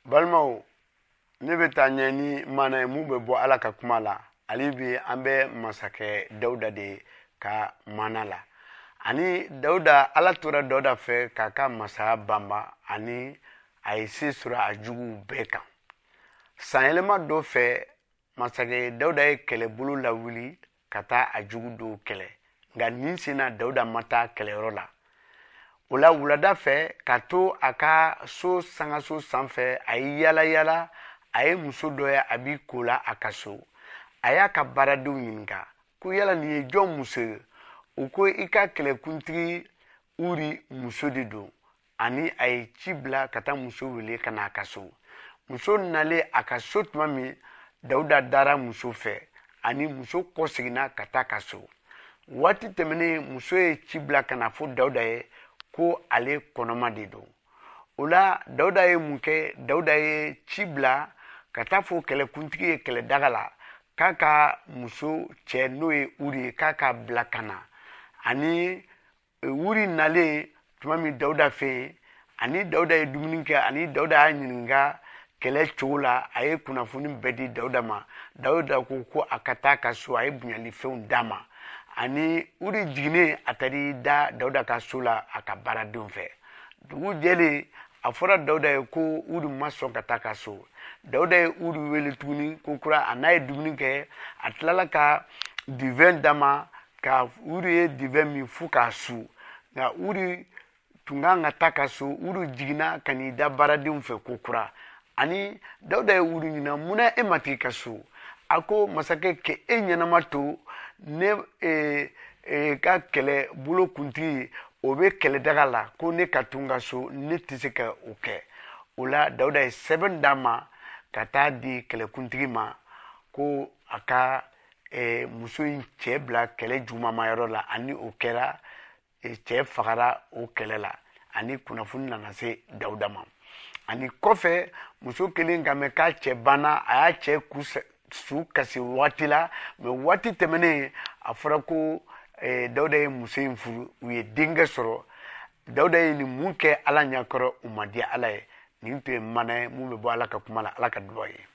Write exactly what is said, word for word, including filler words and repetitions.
Balmao ne bɛ taa ɲɛ ni mana ye mun bɛ bɔ Ala ka kuma la. Ali bi an bɛ masakɛ Dawuda de ka mana la. Ani Dawuda, Ala tora Dawuda fɛ k'a ka masaya banba ani a ye se sɔrɔ a juguw bɛɛ kan. Sanyɛlɛma dɔ fɛ masakɛ Dawuda ye kɛlɛbolo lawuli ka taa a jugu dɔw kɛlɛ. Nka nin sen na Dawuda ma taa kɛlɛyɔrɔ la. O la wulada fɛ ka to a ka so sangaso sanfɛ a ye yala yala a ye muso dɔ ye a b'i ko la a ka so. A y'a ka baaradenw ɲininka ko yala nin ye jɔn muso ye? U ko i ka kɛlɛkuntigi Uri muso de don. Ani a ye ci bila ka taa muso wele ka na a ka so. Muso nalen a ka so tuma min Dawuda dara muso fɛ ani muso kɔseginna ka taa ka so. Waati tɛmɛnen muso ye ci bila ka na fɔ Dawuda ye ko ale kɔnɔma de don. O la Dawuda ye mun kɛ? Dawuda ye ci bila ka taa fɔ kɛlɛkuntigi ye kɛlɛdaga la k'a ka muso cɛ n'o ye Uri ye k'a ka bila ka na. Ani Uri nalen tuma min Dawuda fɛ yen ani Dawuda ye dumuni kɛ ani Dawuda y'a ɲininka kɛlɛ cogo la, a ye kunnafoni bɛɛ di Dawuda ma. Dawuda ko ko a ka taa ka so, a ye bonyali fɛnw d'a ma. Ani Uri jiginnen a taar'i da Dawuda ka so la a ka baaradenw fɛ. Dugu jɛlen a fɔra Dawuda ye ko Uri ma sɔn ka taa ka so. Dawuda ye Uri wele tuguni ko kura a n'a ye dumuni kɛ a tilala ka divin d'a ma ka Uri ye divin min fo k'a su. Nka Uri tun kan ka taa ka so. Uri jiginna ka n'i da baaradenw fɛ ko kura. Ani Dawuda ye Uri ɲininka munna e ma t'i ka so? A ko masakɛ kɛ e ɲɛnama to ne e, e, ka kɛlɛ bolo kuntigi o bɛ kɛlɛdaga la ko ne ka to n ka so ne tɛ se ka o kɛ. O la Dawuda ye sɛbɛn d'a ma ka taa di kɛlɛkuntigi ma ko a ka e, muso in cɛ bila kɛlɛ jugumamayɔrɔ la ani o kɛra e, cɛ fagara o kɛlɛ la ani kunnafoni nana se Dawuda ma. Ani kɔfɛ muso kelen ka mɛn k'a cɛ banna a y'a cɛ ku su kasi waati la mɛ waati tɛmɛnen a fɔra ko eh, Dawuda ye muso in furu u ye denkɛ sɔrɔ. Dawuda ye nin mun kɛ Ala ɲɛkɔrɔ u ma diya Ala ye. Nin tun ye mana ye mun bɛ bɔ Ala ka kuma la, Ala ka dugawu ye.